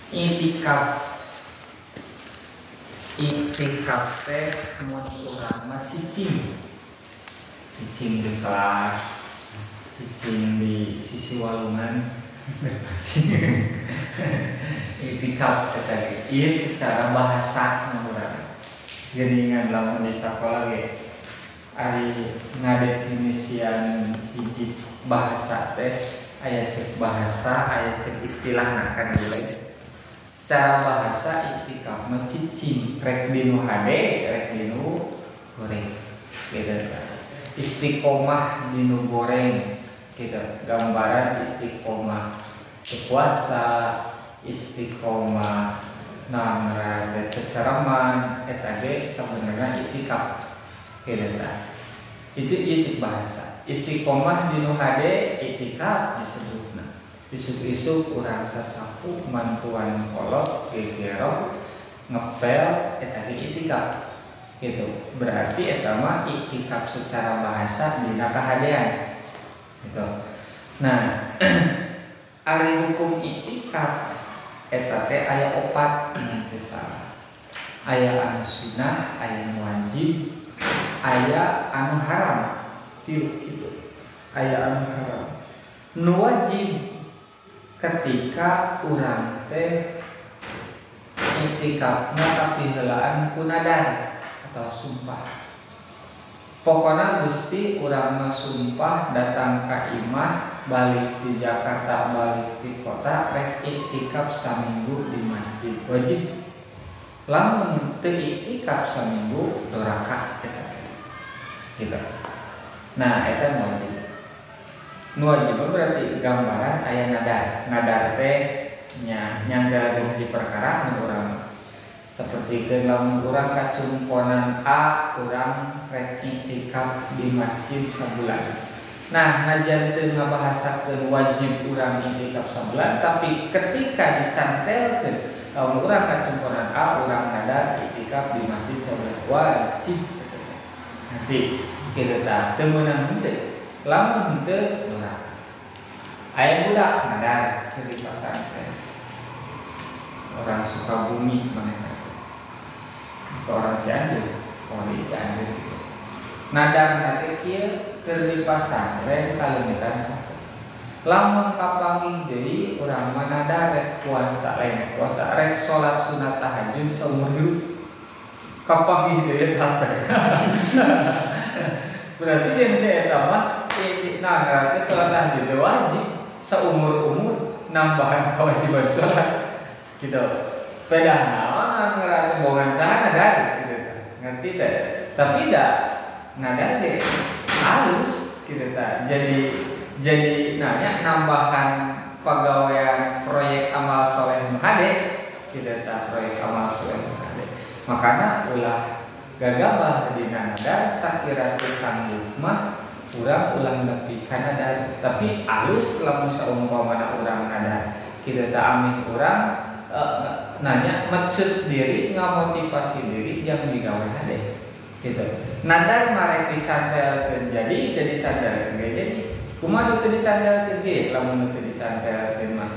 Itikaf teh mun urang mah cicing di kelas, cicing di sisi walungan. Itikaf teh ieu secara bahasa urang. Geuningan lamun di sakola ge ari ngadefinisian hiji bahasa teh aya cek bahasa, aya cek istilahna kan geulah. Secara bahasa itikaf mah cicing rek dinu hade, rek dinu goreng. Gitu. Istiqomah dinu goreng. Gitu. Gambaran istiqomah puasa, istiqomah namra cecereman, eta ge sabenerna itikaf. Gitu. Itu cek bahasa. Istiqomah dinu hade itikaf disebutna. Isuk-isuk urang sasapu mantuan kolot gegero ngepel eta ge itikaf. Gitu. Berarti eta mah itikaf secara bahasa dina kahadean. Gitu. Nah, ari hukum itikaf eta teh aya 4 anu salah. Aya anu sunah, aya anu wajib, aya anu haram. Gitu. Aya anu haram. Nu wajib ketika urang teh itikafna tapi heulaan ku nadar atau sumpah. Pokona Gusti urang mah sumpah datang ka imah balik di Jakarta balik di kota rek itikaf saminggu di masjid wajib. Lamun teu itikaf saminggu doraka eta. Gitu. Nah, eta wajib. Nu wajib berarti gambaran aya nadar teh nyanggalkeun di perkara nu urang seperti lamun urang kacumponan A urang rek itikaf di masjid sabulan. Nah, najan teu ngabahasakeun wajib urang itikaf sabulan tapi ketika dicantelkeun lamun urang kacumponan A urang nadar itikaf di masjid sabulan wajib. Nanti kitu tah teu meunang henteu. Lamun henteu aya budak nadar di pesantren. Orang Sukabumi manehna. Orang Cianjur, orang di Cianjur. Nadar nate kieu keur di pesantren kaleumitan. Lamun kapanggih deui urang mah nadar rek puasa lain puasa rek salat sunat tahajud saumur hidup. Kapanggih deui tah. Berarti jeung saya eta mah nadar teh salat tahajud wajib. Seumur-umur nambahan kewajiban sholat gitu. Beda naon ngarana bohongan saha nadar gitu. Ngerti teh? Tapi dah nadar teh halus gitu tah. Jadi nanya nambahan pegawaian proyek amal soleh muhade gitu tah, proyek amal soleh muhade. Makana ulah gagabah dina nadar sakira teu sanggup mah urang ulang nepi kana nadar, tapi alus lamun saumpamana urang nadar kita teh amih urang nanya mecut diri ngamotivasi diri jang digawe hade gitu. Nadar marek dicantelkeun jadi dicantelkeun jadi kumaha teu dicantelkeun ge lamun teu dicantelkeun mah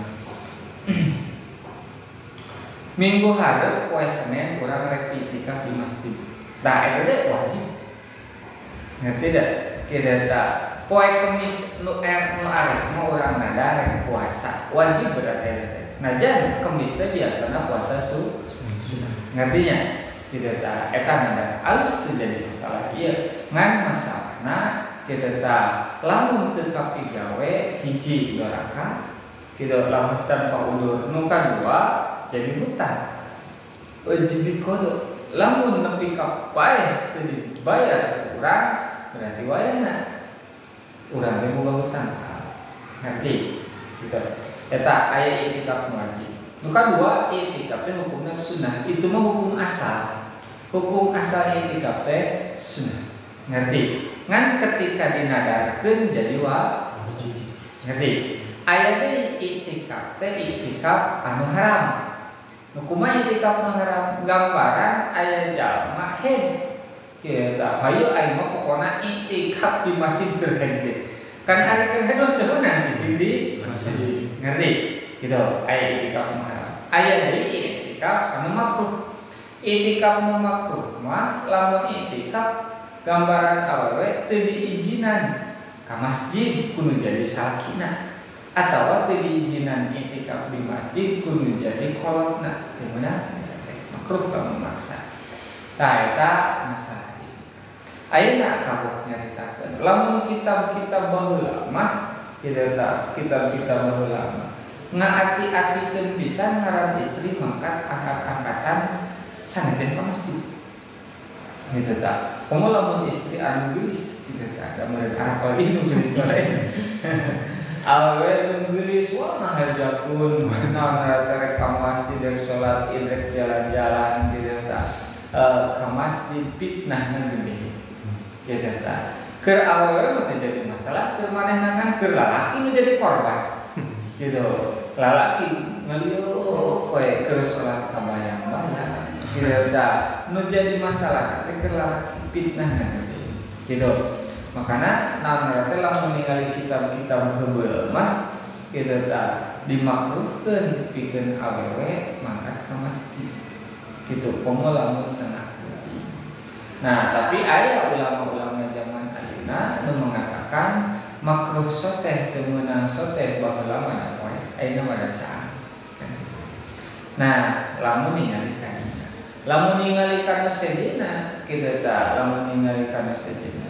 minggu hareup poe Senin urang rek itikaf di masjid. Tah eta teh wajib. Ngerti teh? Kita poe Kemis nu arek mau urang nadar rek puasa wajib berarti. Najan Kemis teh biasana puasa sunah. Ngartinya kita eta nadar alus teu jadi masalah ieu. Ngan masalahna kita lamun teu kapigawe hiji doraka kita lamun tanpa udur nu kadua jadi hutang. Wajib diqada. Lamun nepi ka paeh teu dibayar urang berarti wayahna urang teh boga hutang. Ngerti? Gitu. Eta aya itikaf wajib. Nu kadua itikaf teh hukumna sunah. Itu mah hukum asal. Hukum asal itikaf teh sunah. Ngerti? Ngan ketika dinadarkeun jadi wajib. Ngerti? Aya teh itikaf teh itikaf anu haram. Nu kumaha itikaf anu haram? Gambaran aya jalma hen kita hayu aing mah pokona itikaf di masjid terhenti. Kan ari keur hedon cicing di masjid. Ngerti? Gitu. Aya itikaf haram. Aya itikaf anu makruh. Itikaf anu makruh mah lamun itikaf gambaran awewe teu diizinan ka masjid kudu jadi sakina atawa teu diizinan itikaf di masjid kudu jadi kolotna teu meunang makruh ka memaksa. Tah eta masalah ieu. Ayeuna kabeh nyaritakeun lamun kitab-kitab baheula mah kitab-kitab baheula mah ngaati-atikeun pisan ngaran istri mangkat angkat-angkatan sanajan ka masjid. Gitu tak. Komo lamun istri anu gelis gitu tak. Da meureun apalagi nu gelis lain. Awe nu gelis wah ngahajakeun naon rek ka masjid rek salat Id rek jalan-jalan gitu tak. Ka masjid fitnahna gede. Gitu tak. Keur awewe mah teu jadi masalah, keur manehna keur lalaki nu jadi korban. Gitu. Lalaki ngalieu koe keur salat kabayang-bayang. Gitu dah, nu jadi masalah keur lalaki fitnah gitu. Makana naon teh lamun ningali kitab-kitab heubeul mah gitu dah dimakruhkeun pikeun awewe mangkat ka masjid. Gitu komo lamun tengah putih. Nah, tapi aya ulama-ulama zaman ayeuna nu mengatakan makruh soteh teu meunang soteh baheula mana poe ayeuna mah dacaan. Nah, lamun ningali kadinya lamun ningali kana sedina kitu tah lamun ningali kana sedina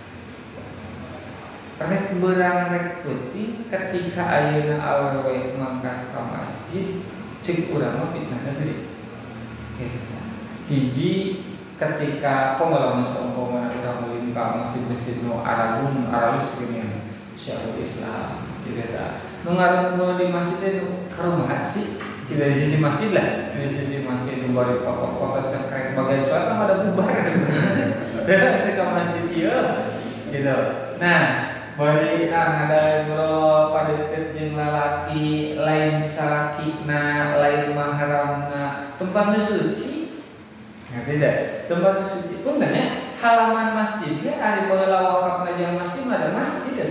rek beurang rek peuting ketika ayeuna awewe mangkat ka masjid ceuk urang mah fitnahna gede kitu tah hiji ketika lamun saumpama urang ulin ka masjid nu aralun aralus geuning Syekhul Islam kitu tah nu ngarumpul di masjid itu karumaha sih kita di sisi masjid lah, di sisi masjid itu bari foto-foto cekrek bagian sholat kan ada bubar ketika masjid iya gitu. Nah, bari ada bro pada jeung lalaki lain salakina, lain mahramna, tempatnya suci. Ngerti tidak? Tempat suci pun kan ya halaman masjid ya ari baheula wakafna jeung masjid ada masjid ya.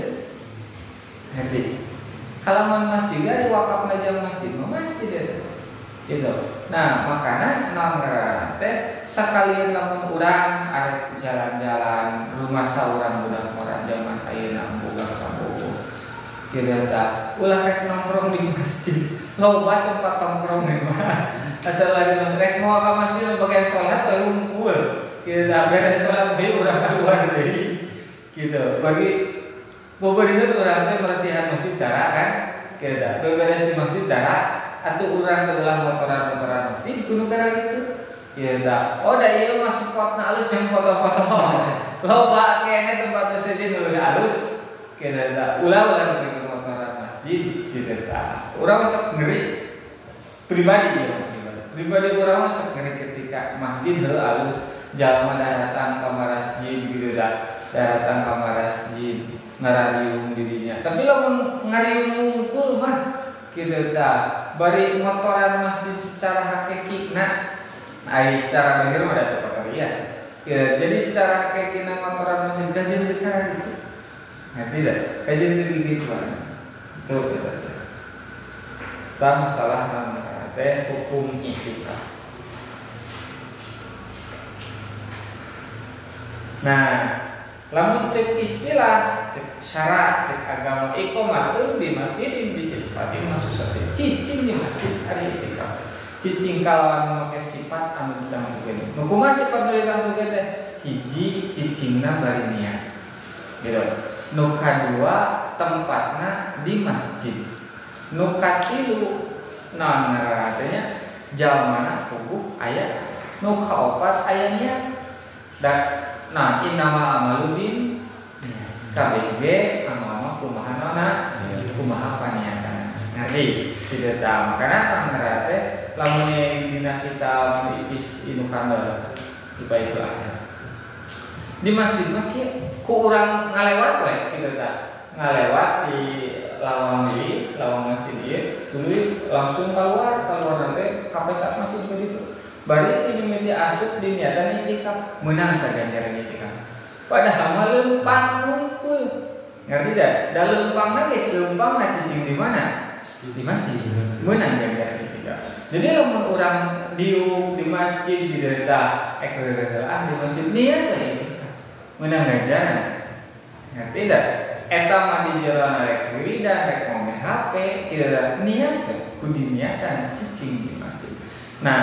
Ngerti? Halaman masjid ada wakafna jeung masjid masjid gitu. Nah, makanya naon ngaranna teh sakalian lamun urang arek jalan-jalan rumah saurang budak orang zaman ayeuna boga kabogo. Kieu tah ulah rek nongkrong di masjid. Loba tempat nongkrong mah. Asal lagi rek mau ka masjid bagian salat bae ngumpul. Kieu tah beres salat bae urang keluar deui. Gitu. Bagi bobeureuh urang teh marasihan masjid dara kan? Kieu tah beres di masjid dara atuh urang teh ulah motoran-motoran masjid kudu gara gitu. Kieu tah. Oh da ieu mah spotna alus yang foto-foto. Loba kene tempat masjid nu alus. Kieu tah. Ulah ke motoran masjid kieu tah. Urang sok ngeri pribadi urang sok ngeri ketika masjid heuh alus jalma datang ka masjid gitu tah. Datang ka masjid ngarariung dirinya. Tapi lamun ngariung ngungkul mah kitu tah bari motoran masjid secara hakikina ai secara bener mah da teu ya. Jadi secara hakikina motoran masjid kajian dekara gitu. Ngerti dah? Kajian gitu tuh. Tah masalah teh hukum itikaf. Nah, lamun cek istilah, cek syarat, cek agama iqamatun di masjid bisa sifat masuk sate. Cicing di masjid ari itikaf. Cicing kalawan make sifat anu ditangtukeun. Nu kumaha sifat nu ditangtukeun teh? Hiji cicingna bari niat. Gitu. Nu kadua tempatna di masjid. Nu katilu naon ngaranna teh nya? Jalmana kudu aya. Nu kaopat aya niat. Nah, innamal amalu bin KBG amal kumaha nona kumaha paniatan. Ngerti? Tidak tahu. Makanya tanggal teh lamun dina kita ipis inu kandel tiba itu aja. Di masjid mah ku urang ngalewat we kitu tah. Ngalewat di lawang masjid ieu tuluy langsung keluar nanti kapesa masuk ke ditu. Bari ini mimiti asup di niatan itikaf menang ka ganjaran itikaf. Padahal mah leumpang ngumpul. Ngerti dah? Da leumpang lagi leumpang cicing di mana? Di masjid. Menang ganjaran itikaf. Jadi lamun orang di masjid di data di masjid niat itikaf menang ganjaran. Ngerti tidak? Eta mah di jalan rek wiridan rek ngomong HP kira niat kudu niatan cicing di masjid. Nah,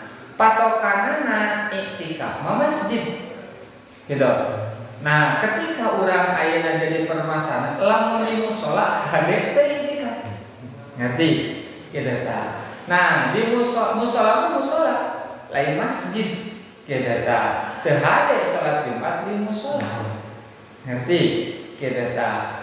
patokanana iktikaf mah masjid. Gitu. Nah, ketika orang ayeuna jadi permasalahan lamun di mushola hade teh iktikaf. Ngerti? Gitu ta. Nah, di mushola lain masjid. Gitu ta. Teu hade salat Jumat di mushola. Ngerti? Kita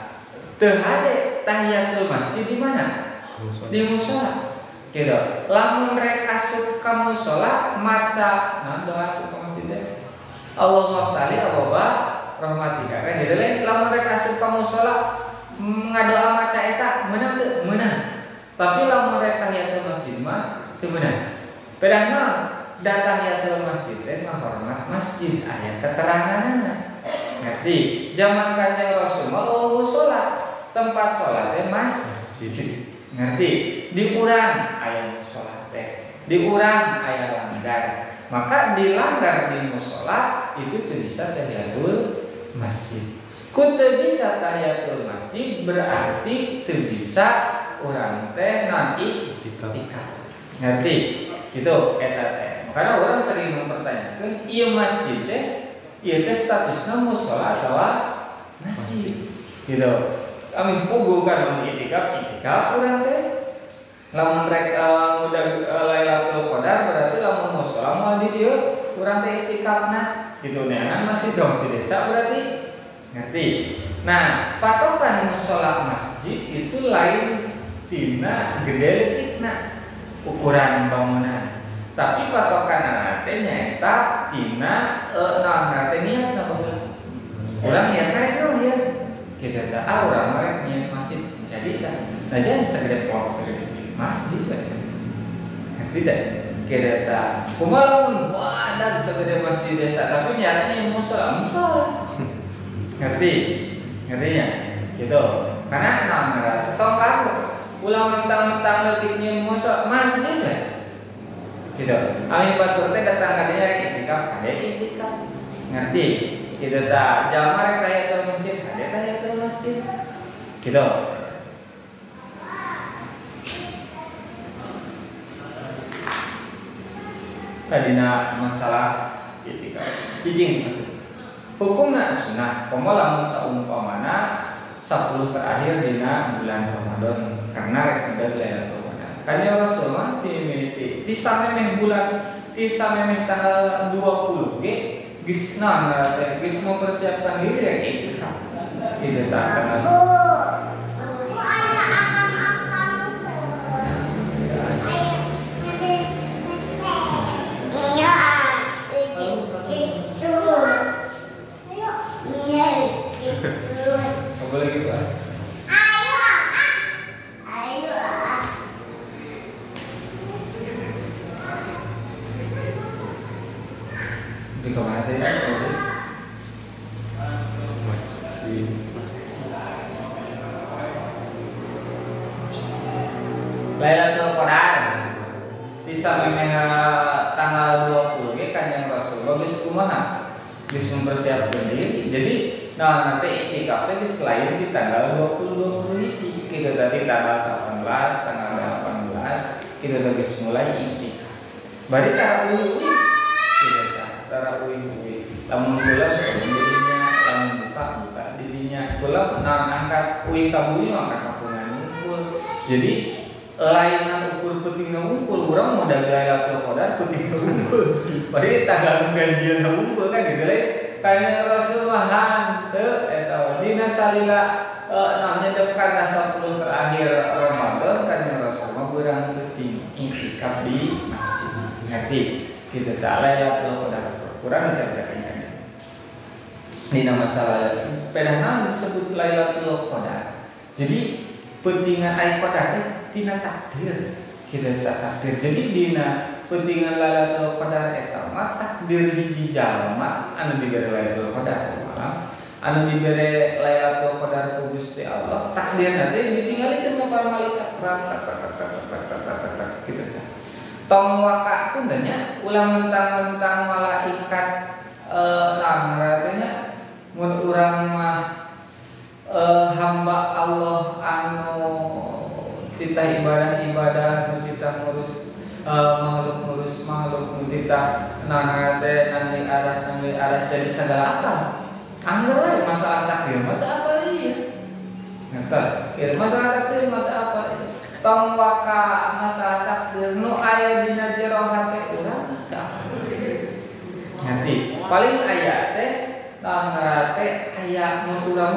teu hade tahiyatul masjid di mana? Di mushola. Gitu. Lamun rek asup ka mushola maca doa asup ka masjid teh. Allahumma ftali ababa rahmatika. Kan gitu lain lamun rek asup ka mushola ngadoa maca eta meunang teu? Meunang. Tapi lamun rek tahiyatul masjid mah teu meunang. Padahal tahiyatul masjid teh menghormat masjid aya keteranganana. Ngerti? Zaman Kanjeng Rasul mau sholat, tempat sholat teh masjid. Ngerti? Di urang aya mushola teh. Di urang aya langgar. Maka di langgar di mushola itu teu bisa tahiyatul masjid. Ku teu bisa tahiyatul masjid berarti teu bisa urang teh nanti iktikaf. Ngerti? Gitu eta teh. Makanya orang sering mempertanyakan, ieu masjid teh ieu teh statusna mushola atau masjid. Gitu. Kami pugu kan mun iktikaf urang teh. Lamun rek udah Lailatul Qadar berarti lamun mushola mah di dieu urang teh iktikafna. Gitu neangan masih dong si desa berarti. Ngerti? Nah, patokan mushola masjid itu lain tina gede letikna ukuran bangunan. Tapi patokan teh nyaeta tina naon teh niatna bangun. Urang niat rek naon ya? Kita teh urang rek niat masjid jadi tah. Nah jangan segede pol segede masjid kan. Ngerti teh? Kita teh kumaha mun wadah segede masjid desa tapi niatnya mushola. Ngerti? Ngertinya? Gitu. Karena naon tong kamu ulah mentang-mentang leutiknya mushola masjid kan. Gitu. Amin batur teh datang ka dinya iktikaf, ade iktikaf. Ngerti? Kitu tah, jalma rek tahiyatul masjid, ade tahiyatul masjid. Gitu. Tadina masalah iktikaf. Izin maksud. Hukumna sunnah, komo lamun saumpamana 10 terakhir dina bulan Ramadan karena rek Lailatul Kanjeng Rasul mah ti samemeh bulan ti samemeh tanggal 20 ge geus naon teh geus mempersiapkan diri rek iktikaf. Itu tah kana boleh gitu ah. Di kemana tadi? Lailatul Qadar bisa memang tanggal 20 ge Kanjeng Rasul geus kumaha? Geus mempersiapkan diri. Jadi nanti iktikaf teh geus lain di tanggal 20 hiji. Kita tadi tanggal 18, tanggal 18 kita geus mulai iktikaf. Bari cara uwi lamun bulan dirinya lamun buka dirinya bulan angkat uwi kabunya angkat kapungan ngumpul. Jadi lainnya ukur pentingna ngumpul urang modal Lailatul Qadar pentingna ngumpul. Bari tanggal ganjian ngumpul kan gitu lain. Kanjeng Rasul mah teu eta dina salila namanya dekat 10 terakhir Ramadan Kanjeng Rasul mah urang penting iktikaf di masjid. Ngerti? Kita tak Lailatul Qadar kurang diceritakan kan. Dina masalah padahal disebut Lailatul Qadar. Jadi pentingan ayat Qadar tina takdir. Kita tak takdir. Jadi dina pentingan Lailatul Qadar eta mah takdir hiji jalma anu dibere Lailatul Qadar malam, anu dibere Lailatul Qadar ku Gusti Allah, takdir nanti ditinggalikeun ka para malaikat. Gitu kan. tong waka itu banyak ulah mentang-mentang malaikat artinya mun urang mah hamba Allah anu kita ibadah kita ngurus makhluk kita nanti aras dari segala akal. Anggar wae masalah takdir mata apa ieu? Ngertos? Masalah takdir mata apa ieu? Tong waka masalah takdir nu aya dina jero hate urang nanti paling aya teh ngarate aya mun urang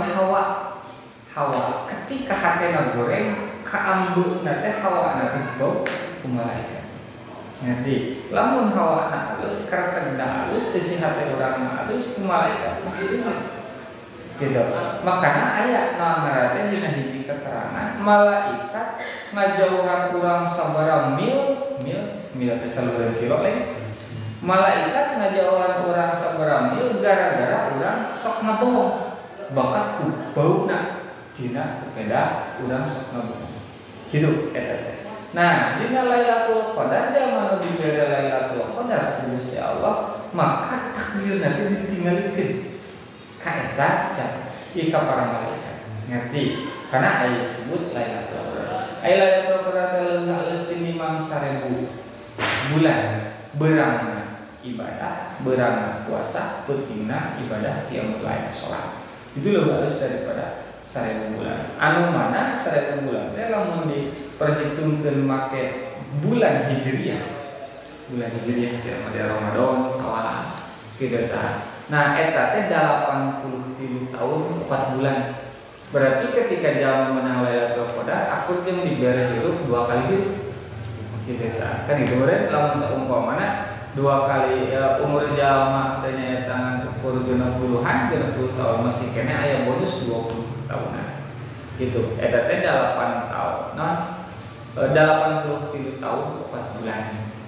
hawa ketika hatena goreng kaambuna teh hawa na bau ku malaikat nanti lamun hawa na halus karakter halus isi hate urang halus ku malaikat gitu. Makanya aya ngarate dina hiji keterangan malaikat ngajauhan urang sabaraha mil teh salureun kilo lain. Malaikat ngajauhan urang sabaraha mil gara-gara urang sok ngabohong. Bakat ku bauna dina beda urang sok ngabohong. Gitu eta teh. Nah, dina Lailatul Qadar zaman dibere Lailatul Qadar ku Gusti Allah, maka takdirna teh ditinggalikeun. Kaeta ika para malaikat ngerti karena ayat disebut Lailatul Qadar. Lailatul Qadar halus ti 5.000 bulan berangna ibadah, berangna puasa, pentingna ibadah qiyamul lail salat. Itu lebih halus daripada 1.000 bulan. Anu mana 1.000 bulan teh lamun diperhitungkeun make bulan Hijriah. Bulan Hijriah teh Ramadan, Syawal, kitu tah. Nah, eta teh 83 tahun 4 bulan. Berarti ketika jaman menang Lailatul Qadar, aku jeung dibere hirup 2 kali hirup. Gitu kan. Kan itu meureun lamun saumpamana 2 kali umur jalma teh nyaeta ukur 60-an, 60 tahun masih kene aya bonus 20 tahunan. Gitu. Eta teh 8 tahun. Nah, 83 tahun 4 bulan.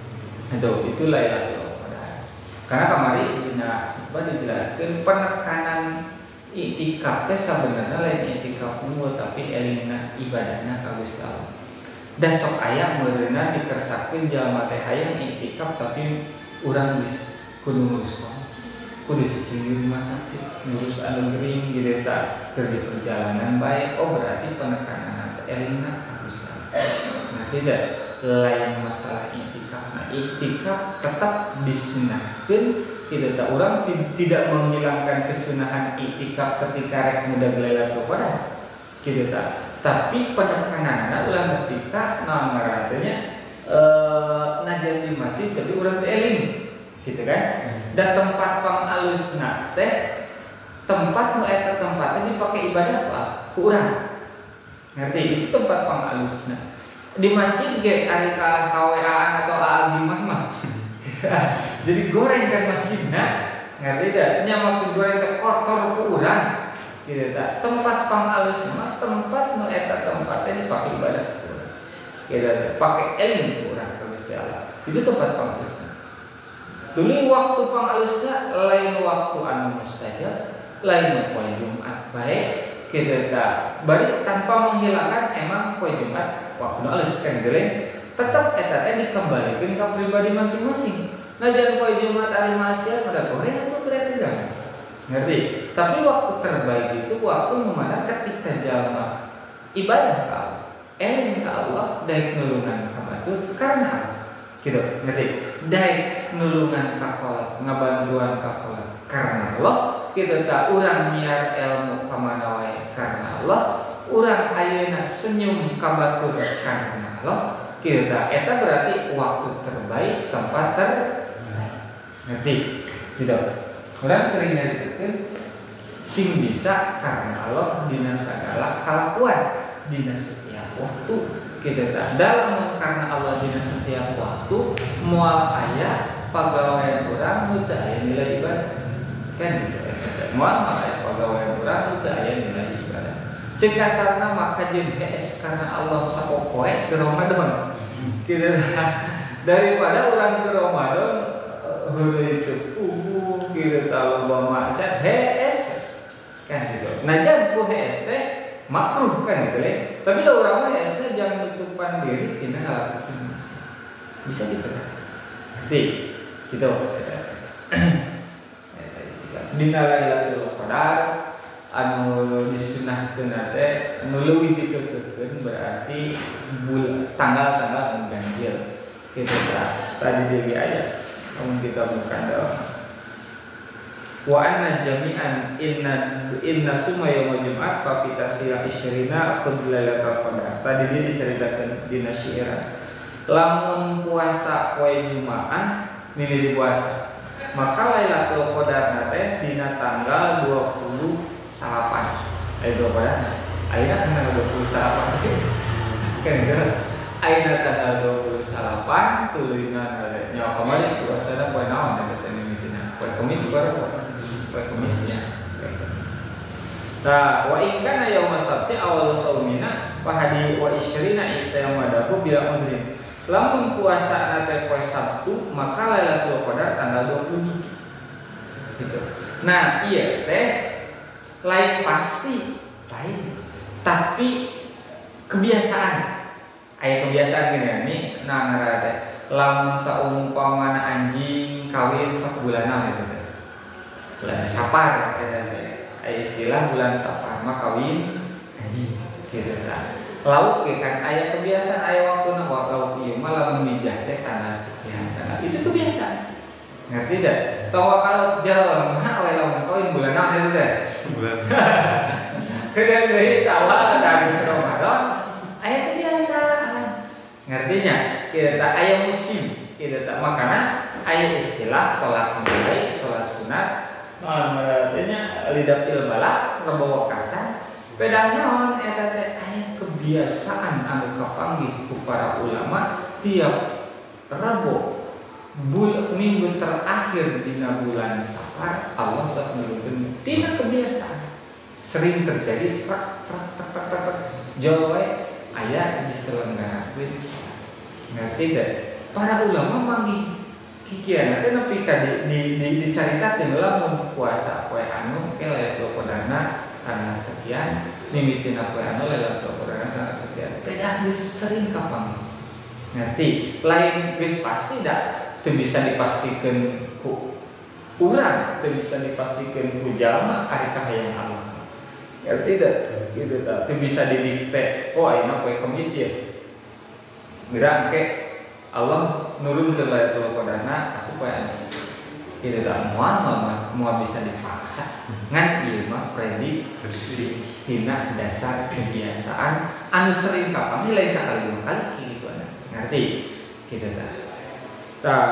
Itu Lailatul Qadar. Karena kemarin dina dijelaskan penekanan i'tikaf teh sebenarnya lain i'tikaf umur tapi elingna ibadahna ka Gusti Allah. Da sok aya meureunna dikersakkeun jalma teh hayang i'tikaf tapi urang geus kudu ngurus kudu cicing rumah sakit, ngurus anu gering gitu ta keur di perjalanan bae. Oh berarti penekanan elingna ka Gusti Allah. Nah, tidak lain masalah i'tikaf. Nah, i'tikaf tetap disunahkeun. Tidak tak orang tidak menghilangkan kesunahan i'tikaf ketika rek muda Lailatul Qadar. Gitu tak. Tapi penekananna ulah ketika ngaranteuna najan di masjid tapi urang teh eling. Gitu kan? Da tempat pangalusna teh tempat nu eta tempatnya dipake ibadah apa? Ku urang. Ngerti? Itu tempat pangalusna. Di masjid ge ari ka KWA atau AAG mah. Jadi goreng kan masjidna ngerti tidak? Nya maksud goreng teh kotor ku urang gitu tak? Tempat pangalus mah tempat nu eta tempatnya dipake ibadah gitu pakai eling ku urang ka Gusti Allah. Itu tempat pangalusna. Tuluy waktu pangalusna lain waktu anu mustajab, lain poe Jumat bae gitu tak? Bari tanpa menghilangkan emang poe Jumat waktu alus kan geleng tetap eta teh dikembalikeun ka pribadi masing-masing. Najan poe Jumat ari maksiat pada goreng atau kreatif. Ngerti? Tapi waktu terbaik itu waktu mana ketika jalma ibadah ka Allah, eling ka Allah, daek nulungan ka batur karena gitu. Ngerti? Daek nulungan ka Allah, ngabantuan ka Allah karena Allah, kita tak urang nyiar ilmu ka mana wae karena Allah, urang ayeuna senyum ka batur karena Allah. Kita eta berarti waktu terbaik, tempat terbaik. Ngerti? Tidak. Orang sering nyaritakeun sing bisa karena Allah dina sagala kalakuan, dina setiap waktu. Kita tak dalam karena Allah dina setiap waktu moal aya pagawean urang nu teu aya nilai ibadah. Kan gitu. Moal aya pagawean urang nu teu aya nilai ibadah. Cek kasarna maka jeung hees karena Allah sapopoe ke Ramadan. Kita daripada orang ke Ramadan itu kita tahu bahwa maksiat HS kan gitu. Nah jangan ku HS teh makruh kan gitu. Tapi kalau orang HS teh jangan tutupan diri tina ngalakukeun maksiat. Bisa gitu kan? Ngerti? Gitu. Dina Lailatul Qadar anu disunahkeun teh anu leuwih dikeukeukeun berarti tanggal-tanggal anu ganjil. Kitu tah. Tadi deui aya mun kita bukan dalam wa anna jami'an inna summa yaumul jum'at fa fi tasila isyrina khudh lailatul qadar. Tadi dia diceritakan dina syi'ran. Lamun puasa poe Jumaah mimiti puasa. Maka Lailatul Qadar teh dina tanggal 28. Ayo pada ayeuna tanggal 28 kan ayeuna tanggal 28 tuluyan nya kemarin puasana poe naon eta mimitina poe Kamis poe Kamisnya. Nah, wa in kana yaum sabti awal saumina fa hadi wa isyrina itamadahu bila udrin. Lamun puasa nate poe Sabtu maka Lailatul Qadar tanggal 20 gitu. Nah, iya teh lain pasti lain, tapi kebiasaan. Aya kebiasaan gini nih, nah ngara teh lamun saumpamana anjing kawin sabulanan gitu teh. Bulan Sapar eta teh. Aya istilah bulan Sapar mah kawin anjing gitu tah. Lauk kan aya kebiasaan aya waktuna lauk ieu mah lamun mijah teh tanggal sekian. Itu kebiasaan. Ngerti dah? Tahu kalau jalan mah aya lamun kawin bulan apa itu teh? Bulan. Kemudian dari awal dari Ramadan aya kebiasaan. Ngertinya? Kita aya musim. Kita tak makana aya istilah tolak mulai salat sunat. Artinya lidah ilbalak rebo wakasan. Pedang naon eta teh aya kebiasaan anu kapanggih ku para ulama tiap Rabu minggu terakhir dina bulan Safar Allah sok nulungkeun tina kebiasaan sering terjadi jawa aya diselenggarakeun ngerti teh para ulama manggih kikian teh nepi ka dicaritakeun lamun puasa poe anu ke Lailatul Qadarna tanggal sekian mimitina poe anu Lailatul Qadar tanggal sekian. Beda geus sering kapan. Ngerti? Lain geus pasti da teu bisa dipastikeun ku urang, teu bisa dipastikeun ku jalma ari kahayang Allah. Ngerti da? Kitu tah. Teu bisa didikte. Oh ayeuna poe Kamis ya. Geura engke Allah nurunkeun Lailatul Qadarna asup poe anu. Kitu tah moal bisa dipaksa. Ngan ieu mah prediksi tina dasar kebiasaan anu sering kapan lain sakali dua kali kitu ana. Ngerti? Kitu tah. Tah.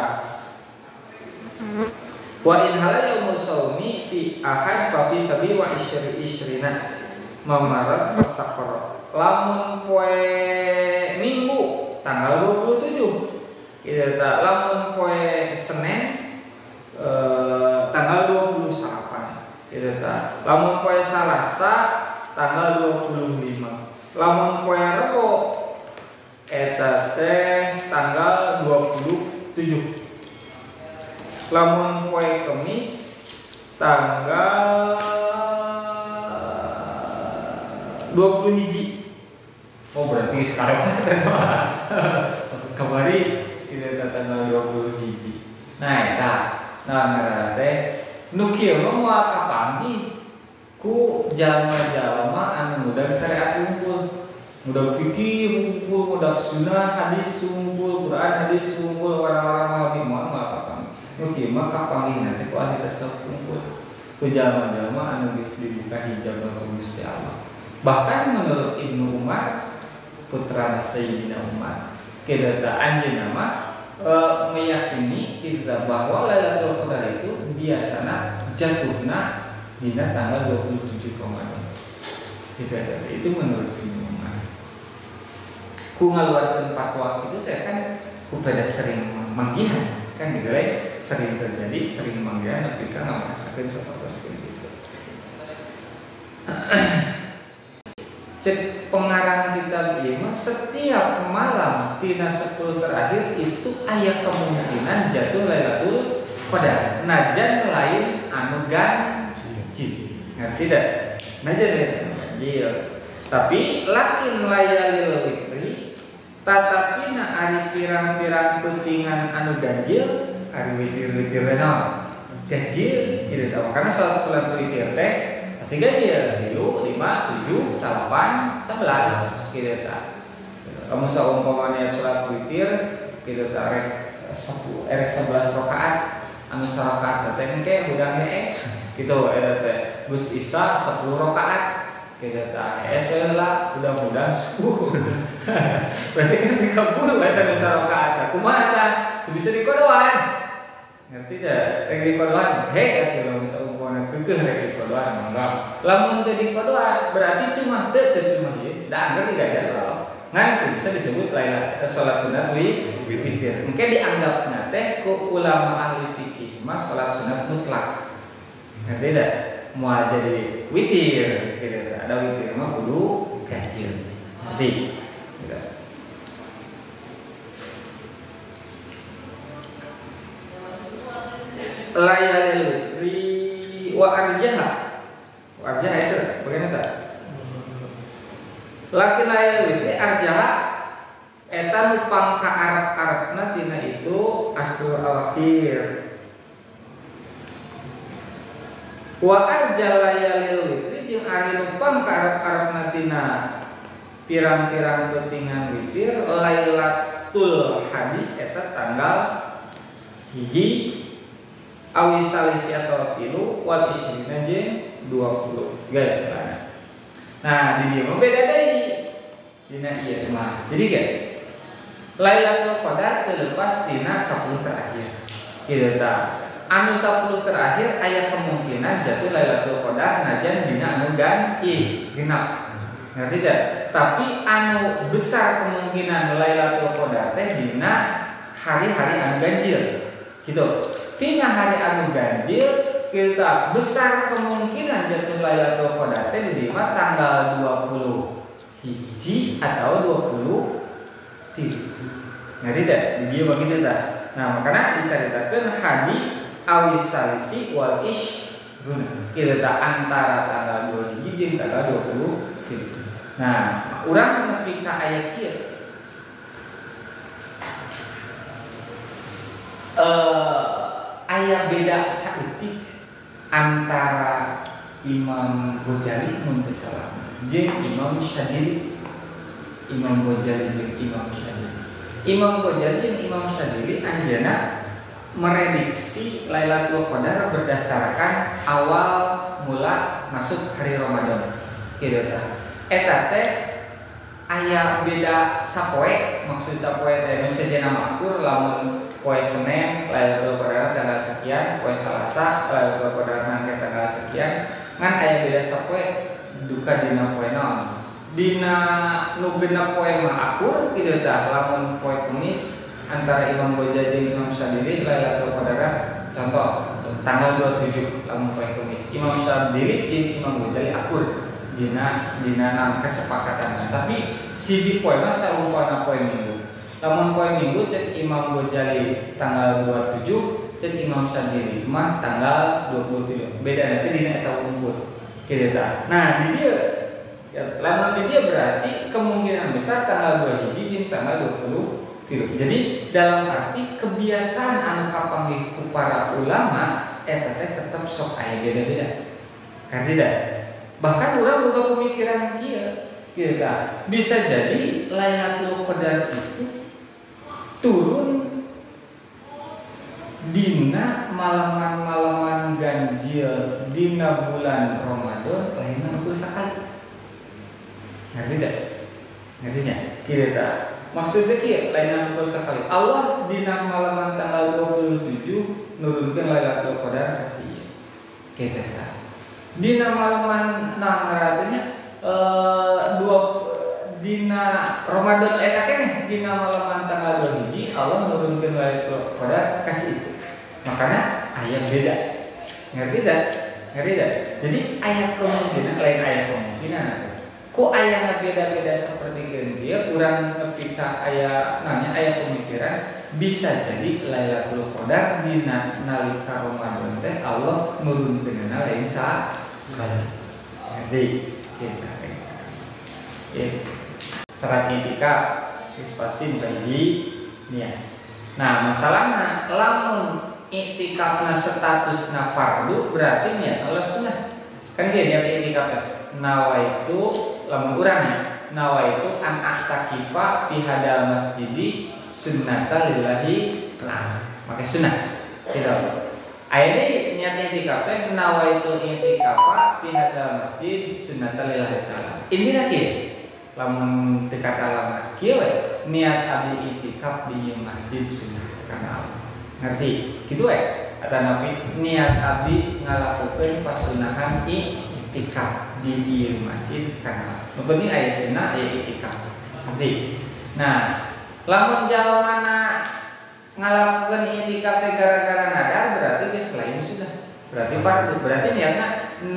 Wa in hala yaumul shaumi fi ahad fa fi sabi wa isyrina mamarat mustaqarra. Lamun poe Minggu tanggal 27. Kitu tah. Lamun poe Senin tanggal 28 gitu ta. Lamun poe Salasa tanggal 25. Lamun poe Rebo eta teh tanggal 27. Lamun poe Kamis tanggal 21. Oh berarti sekarang kembali kita tanggal 21. Nah eta nah teh nu kieu mah moal kapanggih ku jalma-jalma anu mudah syariat unggul, mudah fikih unggul, mudah sunnah hadis unggul, Quran hadis unggul, warna-warna lebih moal kapanggih. Nu kieu mah kapanggih nanti ku ahli tasawuf unggul, ku jalma-jalma anu geus dibuka hijab ku Gusti Allah. Bahkan menurut Ibnu Umar putra Sayyidina Umar, kedata anjeunna mah meyakini kita bahwa Lailatul Qadar itu biasanya jatuhna dina tanggal 27 Ramadan. Itu menurut Ibnu Umar. Ku ngaluarkeun fatwa itu teh kan ku pada sering manggihan kan digere sering terjadi sering manggihan tapi kan ngarasakeun sapertos gitu. Cek pengarang kitab ieu mah setiap malam tina 10 terakhir itu aya kemungkinan jatuh Lailatul Qadar. Najan lain anu ganjil. Ngerti dah? Najan lain anu ganjil. Tapi lakin layalil witri Tetapi na ari pirang-pirang pentingan anu ganjil, ari witir-witir naon? Ganjil kitu tah. Karena salat witir teh pasti ganjil 3, 5, 7, 8, 11 kitu tah. Kamu saumpamanya salat witir kitu tah rek 11 rakaat, anu sarakaat teh engke budang es kitu eta teh. Gus Isa 10 rakaat kitu tah. Lah mudah-mudahan 10. Berarti kan 30 eta nu sarakaat. Kumaha tah? Bisa dikodoan. Ngerti teh? Rek dikodoan he atuh bisa umpamana keukeuh rek dikodoan mangga. Lamun teu dikodoan berarti cuma cuma ieu. Da anggar tidak ada. Ngan bisa disebut lain salat sunat witir. Engke dianggapna teh ku ulama ahli fikih mah salat sunat mutlak. Ngerti teh? Moal jadi witir gitu. Ada witir mah kudu ganjil. Ngerti? Gitu. Layal witri wa arjaha. Wa arjaha itu bagaimana tah? Laki layal witri arjaha eta nu pangka Arab-Arabna tina itu Ashur al-Akhir. Wa arjal layalil witri jeung ari nu pangka Arab-Arabna tina pirang-pirang pentingan witir Lailatul Hadi eta tanggal hiji awi salisi atau tilu wal isrina jeung 20 guys sana. Nah di dieu mah beda deui dina ieu mah. Jadi ge Lailatul Qadar teu lepas tina 10 terakhir. Kitu tah. Anu 10 terakhir aya kemungkinan jatuh Lailatul Qadar najan dina anu genap. Ngerti teh? Tapi anu besar kemungkinan Lailatul Qadar teh dina hari-hari anu ganjil. Gitu. Tina hari anu ganjil kita besar kemungkinan jatuh Lailatul Qadar teh diterima tanggal 20 hiji atau 20 tilu. Ngerti teh? Dia begitu tah. Nah, makanya diceritakan hadi awis salisi wal ish kita tah antara tanggal 2 hiji jeung tanggal 20 tilu. Nah, urang nepi ka aya kieu. Aya beda saeutik antara Imam Ghazali mun teu salah jeung Imam Syadili. Imam Ghazali jeung Imam Syadili. Imam Ghazali jeung Imam Syadili anjeunna merediksi Lailatul Qadar berdasarkan awal mula masuk hari Ramadan. Kitu tah. Eta teh aya beda sapoe, maksud sapoe teh nu sejenna makmur lamun poe Senin Lailatul Qadar tanggal sekian, poe Salasa Lailatul Qadar nangke tanggal sekian, ngan aya beda sapoe duka dina poe naon. Dina nu genep poe mah akur kitu tah, lamun poe Kamis antara Imam Ghazali jeung Imam Syadili Lailatul Qadar contoh tanggal 27 lamun poe Kamis. Imam Syadili jeung Imam Ghazali akur dina kesepakatan. Tapi siji poe mah sarumpana poe Minggu. Lamun poe Minggu cek Imam Ghazali tanggal 27, cek Imam Syadili mah tanggal 23. Beda nanti dina eta unggul. Kitu tah. Nah, di dieu lamun di dieu berarti kemungkinan besar tanggal 2 hiji jeung tanggal 20. Jadi dalam arti kebiasaan anu kapanggih ku para ulama eta teh tetep sok aya beda-beda. Kan tidak? Bahkan urang boga pemikiran kieu. Kieu tah. Bisa jadi Lailatul Qadar itu turun dina malaman-malaman ganjil dina bulan Ramadan lain nu sakali. Ngerti tidak? Ngertinya? Kieu tah. Maksudnya kieu lain nu sakali. Allah dina malaman tanggal 27 nurunkeun Lailatul Qadar ka sieu. Kieu tah. Dina malaman artinya dina Ramadan eta keneh dina malaman tanggal 2 hiji Allah nurunkeun Lailatul Qadar kasih itu. Makanya aya beda. Ngerti tak? Ngerti tak? Jadi aya kemungkinan lain aya kemungkinan. Ku aya beda-beda seperti kieu urang nepi ka aya nanya aya pemikiran bisa jadi Lailatul Qadar dina nalika Ramadan teh Allah nurunkeunna lain sakali. Jadi kita serat itikaf geus pasti bagi niat. Nah, masalahna lamun iktikafna statusna fardu berarti niat Allah sunnah. Kan dia niat iktikaf nawaitu lamun urang nawaitu an astaqifa fi hadal masjidi sunnatan lillahi ta'ala. Maka sunnah. Gitu. Ayeuna niat iktikaf teh nawaitu iktikafa fi hadal masjid sunnatan lillahi ta'ala. Intina kieu. Lamun teu kata lama kieu niat abdi iktikaf di masjid sunnah kana Allah. Ngerti? Kitu we. Kata Nabi niat abdi ngalakukeun pasunahan iktikaf di ieu masjid kana. Nu penting aya sunnah aya iktikaf. Ngerti? Nah, lamun jalmana ngalakukeun iktikaf teh gara-gara nadar berarti geus lain sudah. Berarti fardu. Berarti niatna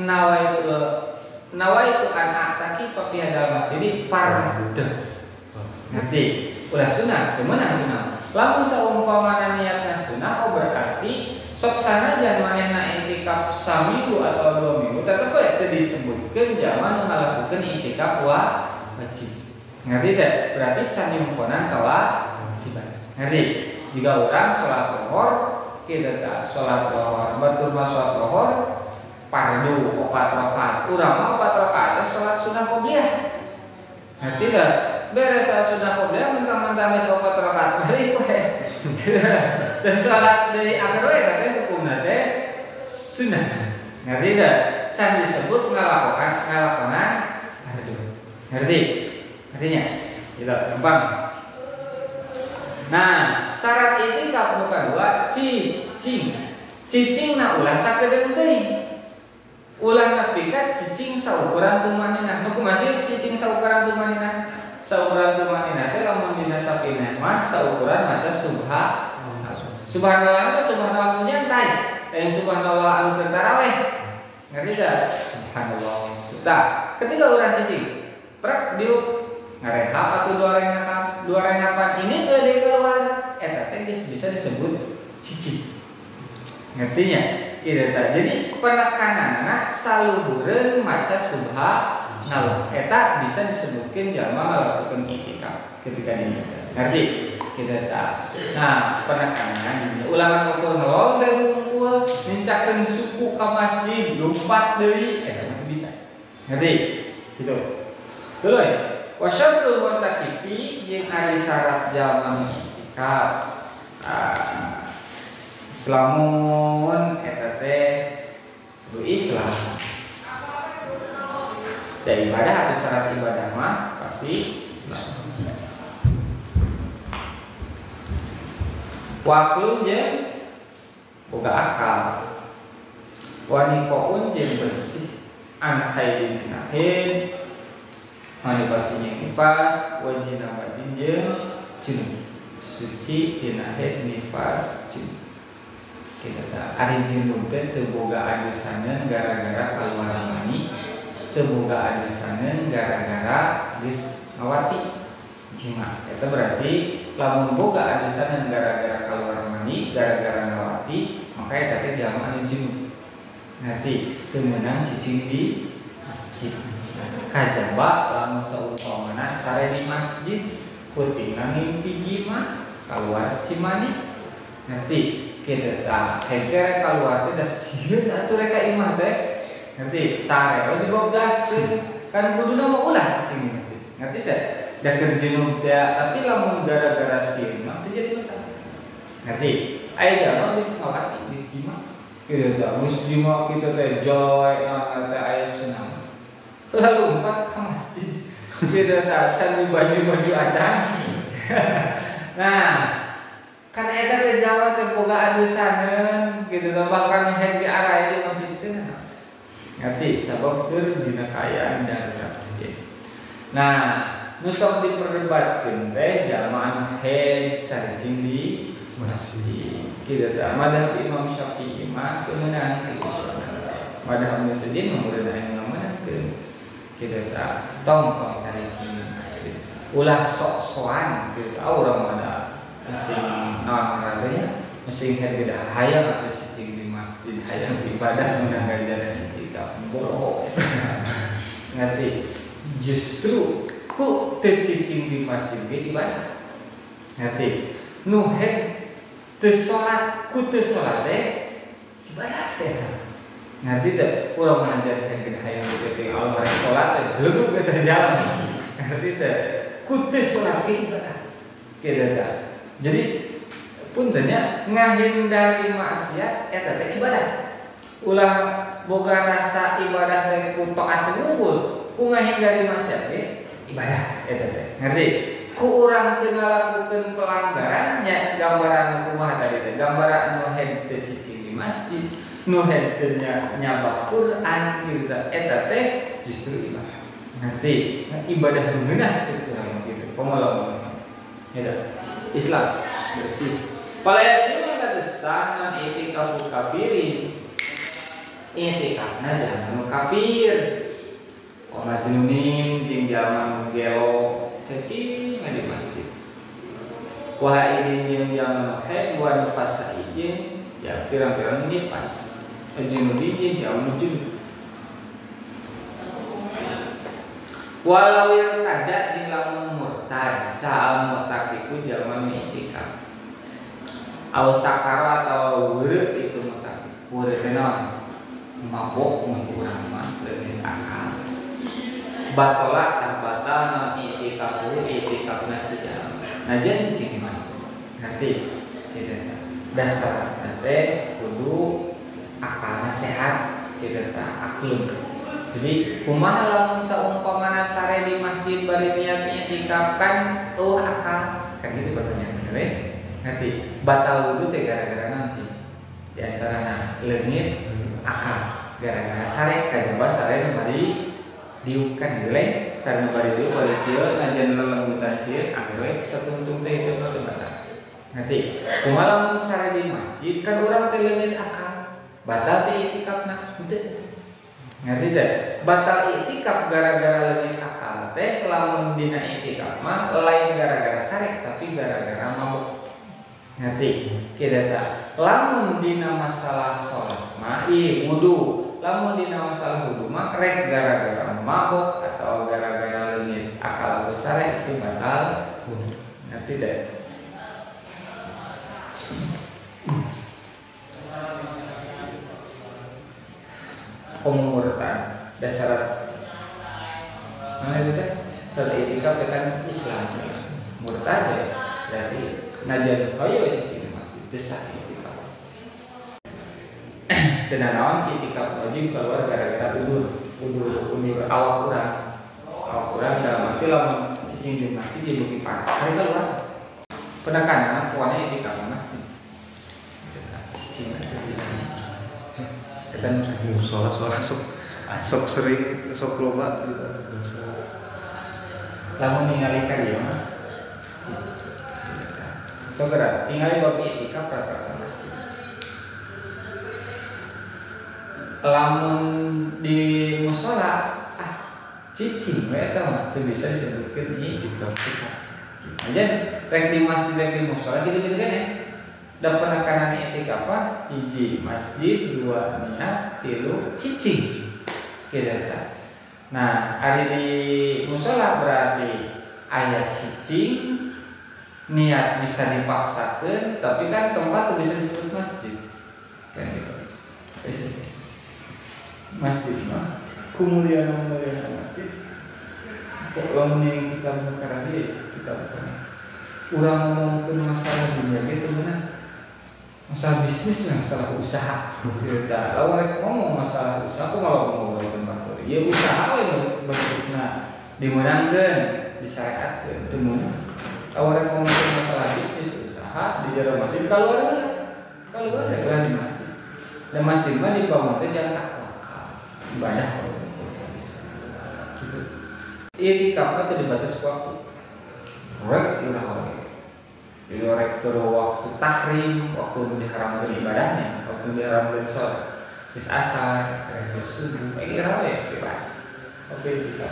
nawaitu an a'taqifa fi hadal masjid fardu. Ngerti? Ulah sunah, kemenang sunah. Lamun saumpamana niatna sunah oh berarti sok sanajan manehna iktikaf samilu atau 2 minggu tetep we teu disebutkeun jalma nu ngalakukeun iktikaf wajib. Ngerti teh? Berarti can nyumponan ka wajiban. Ngerti? Jika orang salat zuhur kita tak salat zuhur, batur mah salat zuhur fardu 4 rakaat. Urang mah 4 rakaat salat sunah qobliyah. Ngerti teh? Beres salat sunah qobliyah mentang-mentang geus 4 rakaat bari we. Dan salat dari akhir we teh hukumna teh sunah. Ngerti teh? Can disebut ngalakonan fardu. Ngerti? Artinya, gitu, gampang. Nah, syarat iktikaf nu kadua cicing na ulah sakedeung teuing. Ulah nepi ka cicing saukuran tumanina. Nu kumaha sih cicing saukuran tumanina? Saukuran tumanina teh lamun dina sapineh mah saukuran maca subhanallah teh subhanallah nya entai. Yang subhanallah anu keur tarawih. Ngerti enggak? Subhanallah. Tah, ketika urang cicing, prek diuk ngarehap atau dua rengapan ini kalau dia keluar eta teh bisa disebut cicing. Ngertinya? Kita jadi penekananna saluhureun maca subhanallah eta bisa disebutkeun jalma ngalakukeun iktikaf ketika ini. Ngerti? Kita tak. Nah, penekanan ulangan ukur ngelol teh ngumpul nincakeun suku ka masjid lompat deui eta bisa. Ngerti? Gitu. Dulu ya. Wasyaratul mu'takifi jeung ari syarat jalma iktikaf. Islamun eta teh kudu Islam. Dan ibadah atau syarat ibadah mah pasti Islam. Waklun jeung boga akal. Wanikoun jeung bersih an haidin nahin mani pasinya nifas wajina badin jeung junub suci dina haid nifas junub. Kita tak ari junub teh teu boga adusaneun gara-gara kaluar mani, teu boga adusaneun gara-gara geus ngawati jima. Eta berarti lamun boga adusaneun gara-gara kaluar mani, gara-gara ngawati, maka eta teh jalma anu junub. Nanti teu meunang cicing di masjid. Kajaba lamun saumpamana sare di masjid putingna ngimpi jima keluar cimani. Nanti kita tak hekere keluar teh da sieun atuh rek ka imah teh. Nanti sare we digoblaskeun kan kuduna mah ulah cicing di masjid. Ngerti teh? Da keur junub teh tapi lamun gara-gara sieun mah teu jadi masalah. Ngerti? Aya jalma geus ngawati geus jima. Kita tak geus jima kita teh joy na teh aya sunah. Lalu 4 ke masjid kita can baju-baju acan. Nah, kan eta teh Jawa teh boga adusaneun kitu teh bahkan haid di arah di masjid teh. Ngerti sabab keur dina kaayaan darurat masjid. Nah, nu sok diperdebatkeun teh jalma anu haid cacing di masjid. Kitu teh madhab Imam Syafi'i mah teu meunang kitu. Madhab Ibnu Sa'id mah murid anu meunangkeun. Kita tak tong cari sini ulah sok-sokan kita tahu orang mana mesin non raganya mesin beda hayang atau cicing di masjid hayang ibadah menang gajaran kita bohong ngerti justru ku teu cicing di masjid ge ibadah. Ngerti? Nu teu salat ku teu salat teh ibadah setan. Ngerti teh? Urang mengajarkan ke hayang teh Allah rek salat teh leuweung ge terjalan. Ngerti teh? Ku teu salat ge ibadah. Kieu teh. Jadi puntennya ngahindari maksiat eta teh ibadah. Ulah boga rasa ibadah teh ku taat unggul, ku ngahindari maksiat ge ibadah eta teh. Ngerti? Ku urang teu ngalakukeun pelanggaran nya gambaran kumaha tadi teh? Gambaran nu henteu cicing di masjid, nu henteu nyabak Quran kieu teh eta teh justru ibadah. Ngerti? Ibadah nu ngeunah ceuk urang kitu. Pengalaman. Eta Islam bersih. Palayasima katasan itikafu kafirin. Itikafna jangan kafir. Majnunin jeung jalma gelo cacing di masjid. Wah ini yang jalma haid wa nifas izin ya pirang-pirang nifas. Majnunin jalma junub. Walau yang ada jeung lamun murtad saal murtakiku jalma mi'tikaf. Au sakara atau weureut itu murtad. Weureut teh naon? Mabok mun urang mah leuwih akal. Batola tak batal i'tikafu i'tikafna sejarah. Najan cicing masuk. Ngerti? Gitu. Dasar teh kudu akalna sehat, kitu tah aklun. Jadi kumaha lamun saumpamana sare di masjid bari niat i'tikaf kan akal. Kan gitu pertanyaan, bener? Ngerti? Batal wudu teh gara-gara naon sih? Di antarana leungit akal. Gara-gara sare kajaba sare bari diukan geleng sareng bari dieu bari kieu najan lelembutan kieu angger satuntung teh itu teh batal. Ngerti? Kumaha lamun sare di masjid kan urang teh leungit akal. Batal teh i'tikafna henteu. Ngerti teh? Batal i'tikaf gara-gara leungit akal teh lamun dina i'tikaf mah lain gara-gara sare tapi gara-gara mabuk. Ngerti? Kieu tah. Lamun dina masalah salat mah wudu. Lamun dina masalah wudu mah rek gara-gara mabuk atau gara-gara leungit akal besar itu batal wudu. Ngerti teh? Murtad dasar mana itu teh? Salat i'tikaf kan Islam. Murtad ya berarti najan hoyo cicing masih desah i'tikaf. Tenan naon i'tikaf wajib keluar gara-gara udur awak urang dalam arti lamun cicing di masjid di bukit panas hari keluar penekanan kuana i'tikaf masjid cicing kan musola sok sering sok loba gitu. Lamun ningali karya mah segera ningali bab i'tikaf rata-rata masjid. Lamun di musola cicing we eta mah teu bisa disebutkeun i'tikaf. Aja rek di masjid rek di musola gitu-gitu kan ya. Dan penekanan i'tikaf apa? 1 masjid, 2 niat, 3 cicing. Gitu. Nah, hari di musola berarti aya cicing, niat bisa dipaksakan, tapi kan tempat tuh bisa disebut masjid. Kan gitu. Masjid mah kemuliaan masjid. Kok lamun kita perkara kita bukan. Urang ngomongkeun masalah dunia gitu benar. Masalah bisnis lah, masalah usaha. Kita lawan mereka ngomong masalah usaha, aku malah ngomong tempat ya usaha yang bentuknya dimenangkan, disyariatkan, temun. Lawan mereka ngomong masalah bisnis usaha di jalan masjid, kalau ada di masjid. Dan masjid mah di bawah itu jangan takwa, ibadah kalau bisa. Gitu. I'tikaf itu dibatasi waktu. Rek udah jadi orang waktu tahrim, waktu diharamkan ibadahnya, waktu diharamkan sholat, bis asar, bis subuh, ini rawe bebas. Oke, tidak.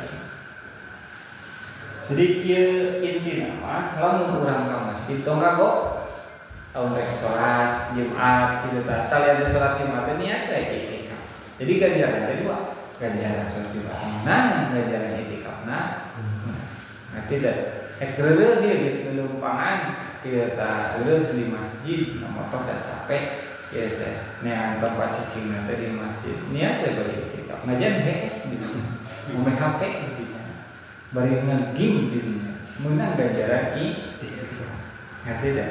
Jadi kia inti nama, lamun urang ka masjid tong kagok, tahun rek sholat Jumat, gitu tak. Salian sholat Jumat niat kayak i'tikaf. Jadi ganjaran ada 2, ganjaran sholat Jumat. Nah, ganjaran i'tikaf nah. tidak ekreureun dia geus lelumpangan kita di masjid motor dan capek kieu teh neangan tempat cicing teh di masjid niat teh bari itikaf ngajian HS gitu main HP gitu bari ngegame gitu menang ganjaran itikaf ngerti dah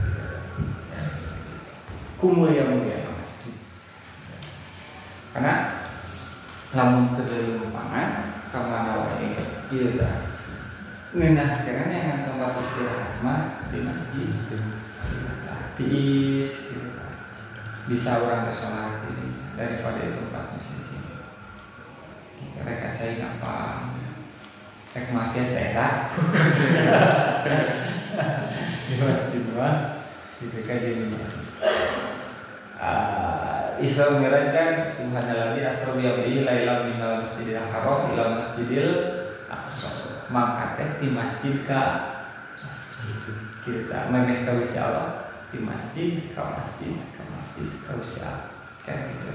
mulia masjid karena lamun teu lelumpangan ka mana wae ieu tah ngeunah karena yang tempat istirahat mah di masjid tiis bisa orang ke sholat ini daripada di tempat masjid mereka saya apa rek masjid tera di masjid mah itu kan jadi masjid Isra Mi'raj kan subhanallah asra bi abdihi lailan minal masjidil haram ila masjidil aqsa maka teh di masjid ka masjid kita memeh ka Gusti Allah di masjid ka masjid ka Gusti Allah kan gitu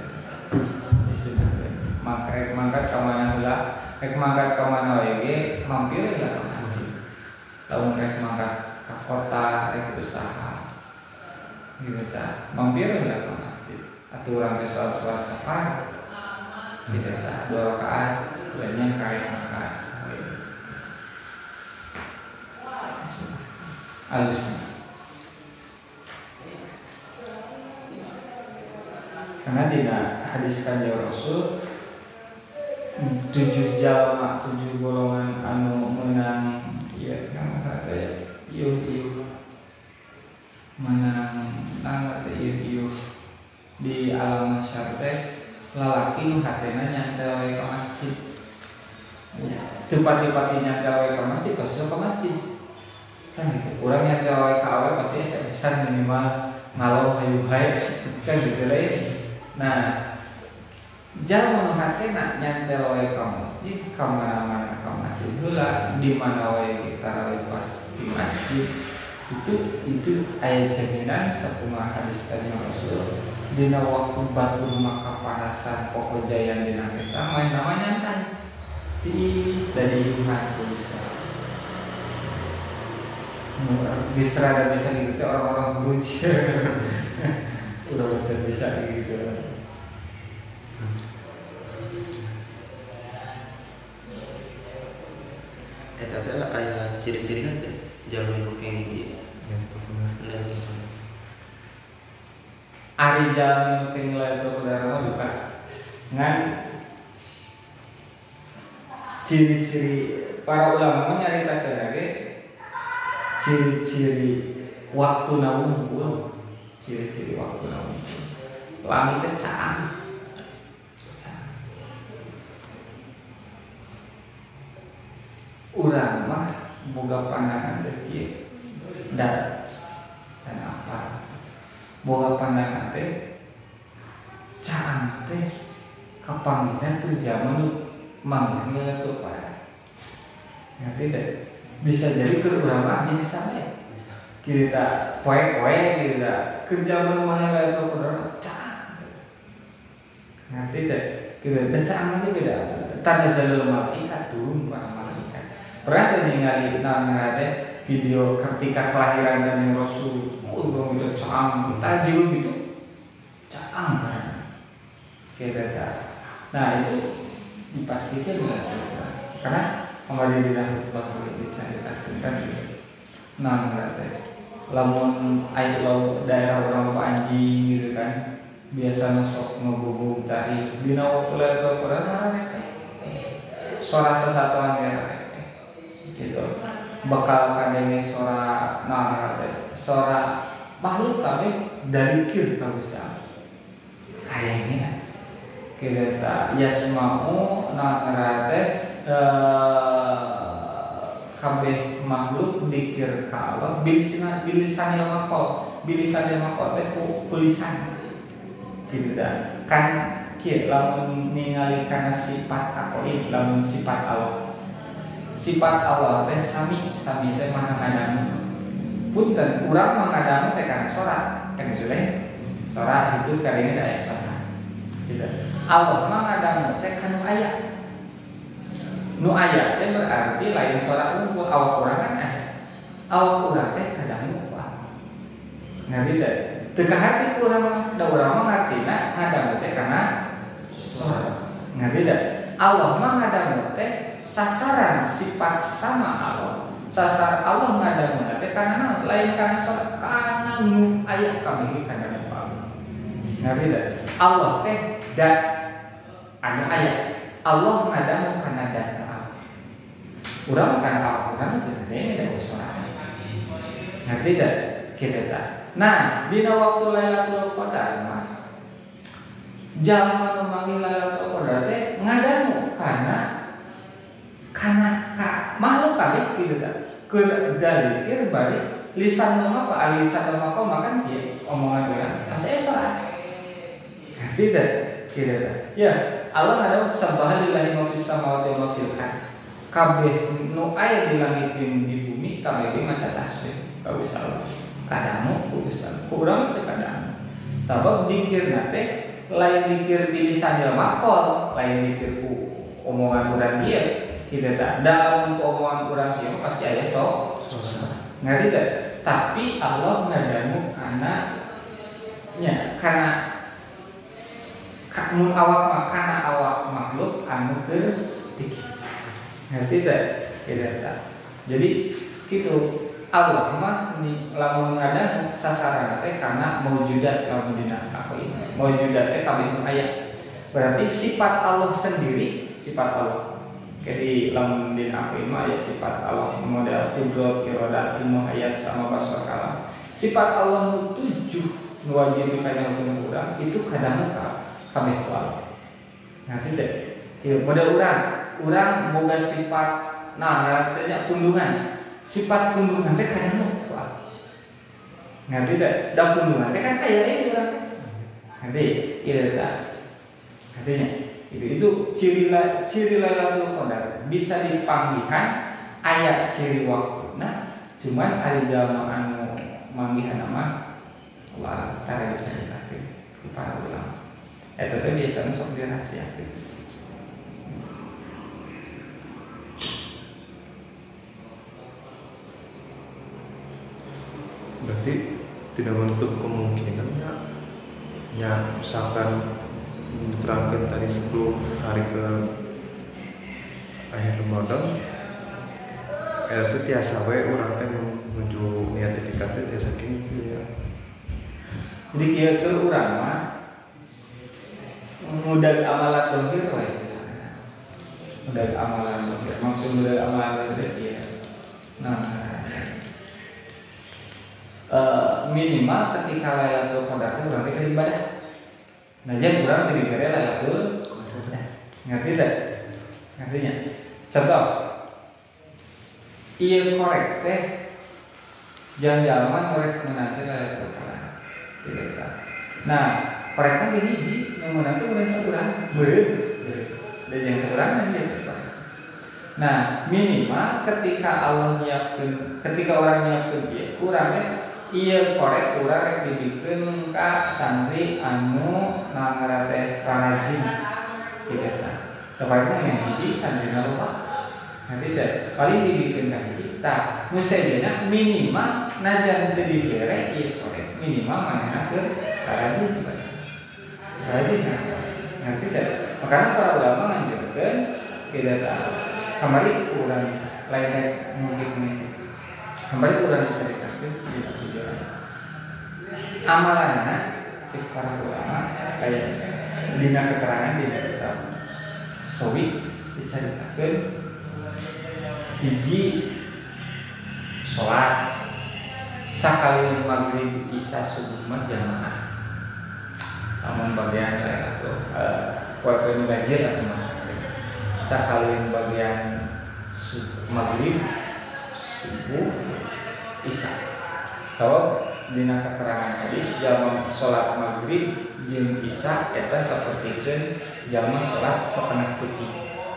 maka rek mangkat ka mana heula rek mangkat ka mana wae ge mampir ka masjid lamun rek mangkat ka kota rek usaha gitu ta mampir ka masjid aturan teh salat safar gitu ta 2 rakaat lainnya kayak mangkat alusnya karena di hadis kanjeng Rasul 7 jalma 7 golongan anu menang ya kan kata ieu menang nang ieu di alam mahsyar teh lalaki nu hatena nyantel we ka masjid tempat-tempat nyantel we ka masjid pasti ka masjid kan gitu. Orang yang jawab ke awal pasti bisa minimal ngalau hayu hai kan gitu lah. Nah, jangan menghati nak nyantel wae ke masjid, ke mana-mana ke masjid heula, di mana wae tarawih pas di masjid itu ayat jaminan sakumaha hadis kanjeng Rasul. Dina waktu batur maka panasan pokok jayan dina kesa main namanya nyantai. Dari iman bisa. Bisa gitu orang-orang buci sudah betul bisa gitu. Tadi ada ciri-ciri nanti jalan kayak gitu. Ari jalan kayak nilai itu saudara bukan ngan ciri-ciri para ulama menyaritakan lagi ciri-ciri waktu nawungkul ciri-ciri waktu nawungkul langitnya caang urang mah boga pandangan teh dan sana apa boga pandangan teh caang teh kapanginan tuh zaman manggilnya tuh pada ngerti deh bisa jadi ke ulama biasa ya kita poe-poe kita kerja rumahnya itu kurang cang ngerti deh kita cang aja beda tanda jalur malaikat turun para malaikat pernah tuh ningali nangade video ketika kelahiran dan Rasul dong itu cang tajul gitu cang kan kita nah itu dipastikan karena kembali di dalam sebuah diceritakan kan nah berarti lamun ayo daerah orang panji gitu kan biasa masuk ngobong tadi dina waktu level pernah suara sesatuan ya gitu bakal kadangnya suara nah berarti suara makhluk tapi dari kir kalau bisa kayaknya kita yasma'u nah berarti kabeh makhluk dikir ka Allah bilisan maqal teh tulisan gitu kan kieu lamun ningali kana sifat aqoid lamun sifat Allah teh sami teh maha ngadamu punten urang mah ngadamu teh kana salat kan jule salat itu kadenge aya salat gitu Allah mah ngadamu teh kanu aya Nu aya teh berarti lain sholat unggul. Awak urang kan aya. Awak urang teh kadang lupa. Ngerti teh? Teu kahati ku urang mah, da urang mah ngartina ngadangu teh kana sholat. Ngerti teh? Allah mah ngadangu teh sasaran sifat sama Allah. Sasar Allah ngadangu teh kana lain kana sholat, kana nu aya kami kana apa. Ngerti teh? Allah teh da anu aya. Allah ngadangu kana data. Urang kan Al-Qur'an itu ini ada sholat. Ngerti tak? Kita tak. Nah, dina waktu Lailatul Qadar mah jalma nu manggih Lailatul Qadar teh ngadangu kana makhluk kali kieu tak. Kedalikir bari lisan mah apa lisan mah kok makan kieu omongan urang. Asa sholat. Ngerti tak? Kita tak. Ya, Allah ngadangu subhanallahi ma fis samawati wa ma fil ardh. Kabeh nu aya di langit jeung di bumi kabeh ge maca tasbih ka Gusti Allah. Kadang ku Gusti Allah. Urang teh kadang. Sabab dikirna teh lain dikir di lisan jelema kol, lain dikir ku omongan urang ieu. Kitu tah. Dalam omongan urang ieu pasti aya sok. Ngerti teh? Tapi Allah ngadangu kana nya kana mun awak mah kana awak makhluk anu keur dikir. Ngerti tak? Tidak tak. Jadi gitu Allah mah lamun ngadangu sasaran teh karena maujudat lamun dina apa ini. Maujudat teh kabeh aya. Berarti sifat Allah sendiri, sifat Allah. Jadi lamun dina apa ini aya sifat Allah model qudrat, iradat, ilmu hayat sama basar kalam. Sifat Allah nu 7 nu wajib dikanyakeun urang itu kadang kabeh Allah. Ngerti teh? Ieu model urang boga sifat artinya pundungan. Sifat pundungan teh kadang lupa. Ngerti teh? Da pundungan teh kan aya ini urang teh. Ngerti? Ieu tah. Artinya itu ciri Lailatul Qadar bisa dipanggihan aya ciri waktuna, cuman ari jalma anu manggihan nama Allah tara dicaritakeun ku para ulama. Eta teh biasana sok dirahasiakeun. Berarti tidak menutup kemungkinannya misalkan diterangkan tadi 10 hari ke akhir Ramadan itu tiasa we urang teh menuju niat itikaf teh tiasa kieu ya. Jadi kieu teh urang mah mudah amalan dohir we. Mudah amalan dohir. Maksud mudah amalan dohir ya. Nah, minimal ketika Lailatul Qadar itu berarti beribadah. Nah, jadi kurang diberi Lailatul Qadar. Ngerti tak? Ngertinya? Contoh, iya korek teh jangan korek menanti Lailatul Qadar. Tidak tak? Nah, koreknya di hiji, yang menanti bukan sekurang, dan yang sekurang dia korek. Nah, minimal ketika orang nyiapkeun dia kurangnya iya korek urang dibikeun ka santri anu nangara teh rajin kitu tah. Kabarna yang hiji santri lupa. Nanti teh paling dibikeun ka hiji tah. Nu sadayana minimal najan teu dibere ieu korek minimal manehna keur rajin. Rajin. Nanti teh makana para ulama nganjurkeun kitu tah. Kamari urang lain mungkin kamari urang diceritakeun amalanna cek para ulama kayak dina keterangan dina kitab Sawi diceritakeun hiji salat sakali maghrib isya subuh mah jamaah amun bagian atau kuartal ganjil atau masjid sakali bagian maghrib subuh isya. Kalau dina keterangan hadis jalma salat maghrib jeung isya eta sapertikeun jalma salat setengah putih.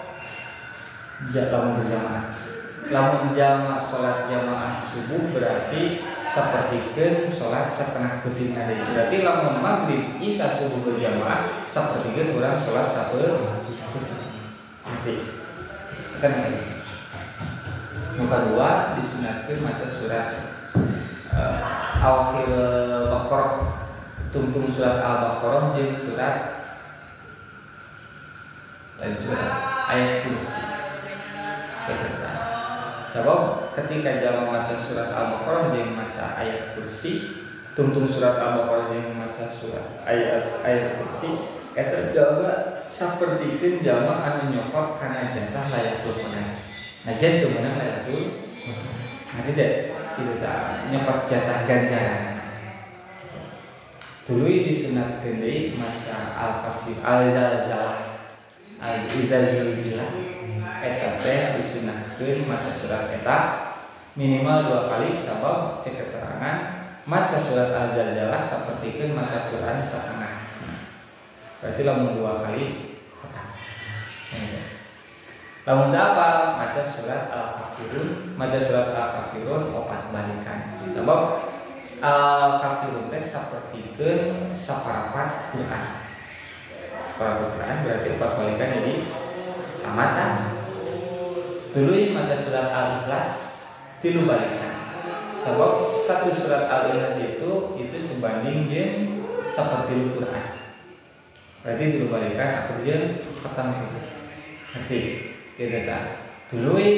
Lamun berjamaah. Lamun jalma salat jamaah subuh berarti sapertikeun salat setengah putih deui. Berarti lamun maghrib isya subuh berjamaah sapertikeun urang salat sapertikeun. Nanti. kan lagi. Yang kedua disunatkan maca surat Awakhir Baqarah, tungtung surat Al-Baqarah jeung surat ayat kursi. Sebab ketika jalan maca surat Al-Baqarah jeung maca ayat kursi, tungtung surat Al-Baqarah jeung maca surat ayat kursi, eta jawa sapertikeun jalma anu nyokot kana jatah layakul qadar. Najan teu meunang layakul. Nah tidak nyokot jatah ganjaran. Tuluy disunatkeun deui maca Al-Kafir, Al-Zalzalah, Al-Zilzilah. Eta teh disunahkeun maca surat eta minimal 2 kali sabab cek keterangan maca surat Al-Zalzalah sapertikeun maca Quran satengah. Berarti lamun 2 kali khotam. Lamun apa? Maca surat Al-Kafirun, maca surat Al-Kafirun 4 balikan. Sabab Al-Kafirun teh sapertikeun saparapat Quran. Saparapat Quran berarti 4 balikan jadi tamatan. Tuluy maca surat Al-Ikhlas 3 balikan. Sebab 1 surat Al-Ikhlas itu sebanding jeung 1/3 Quran. Berarti 3 balikan aku jeung khatam itu. Ngerti? Kita tuluy